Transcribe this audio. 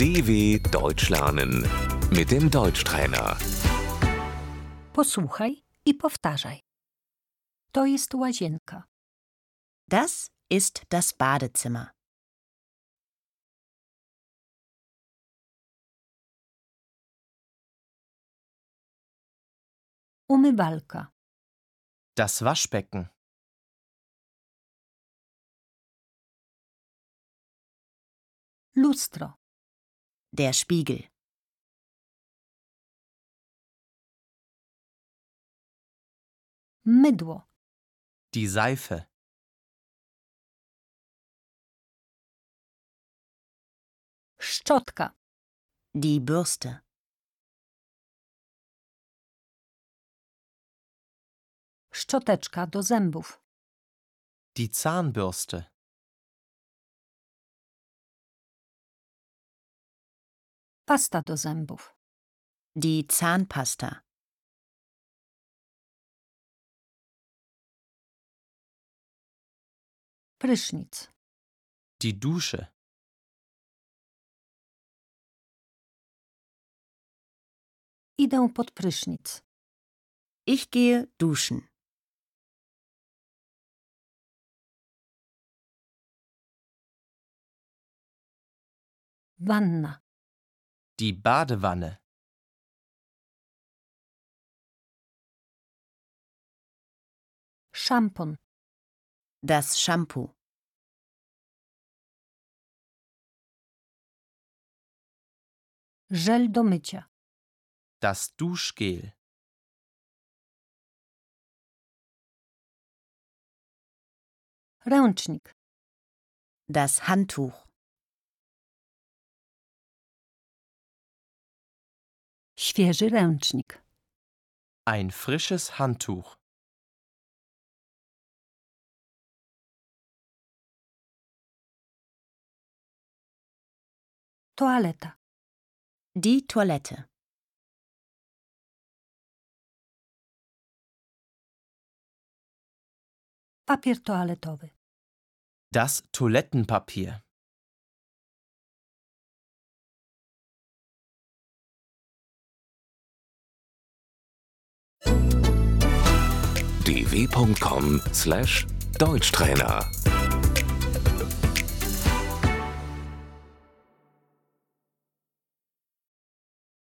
DW Deutsch lernen mit dem Deutschtrainer. Posłuchaj i powtarzaj. To jest łazienka. Das ist das Badezimmer. Umywalka. Das Waschbecken. Lustro. Der Spiegel. Mydło. Die Seife. Szczotka. Die Bürste. Szczoteczka do zębów. Die Zahnbürste. Pasta do zębów. Die Zahnpasta. Prysznic. Die Dusche. Idę pod prysznic. Ich gehe duschen. Wanna. Die Badewanne. Szampon. Das Shampoo. Żel do mycia. Das Duschgel. Ręcznik. Das Handtuch. Świeży ręcznik. Ein frisches Handtuch. Toaleta. Die Toilette. Papier toaletowy. Das Toilettenpapier. dw.com/Deutschtrainer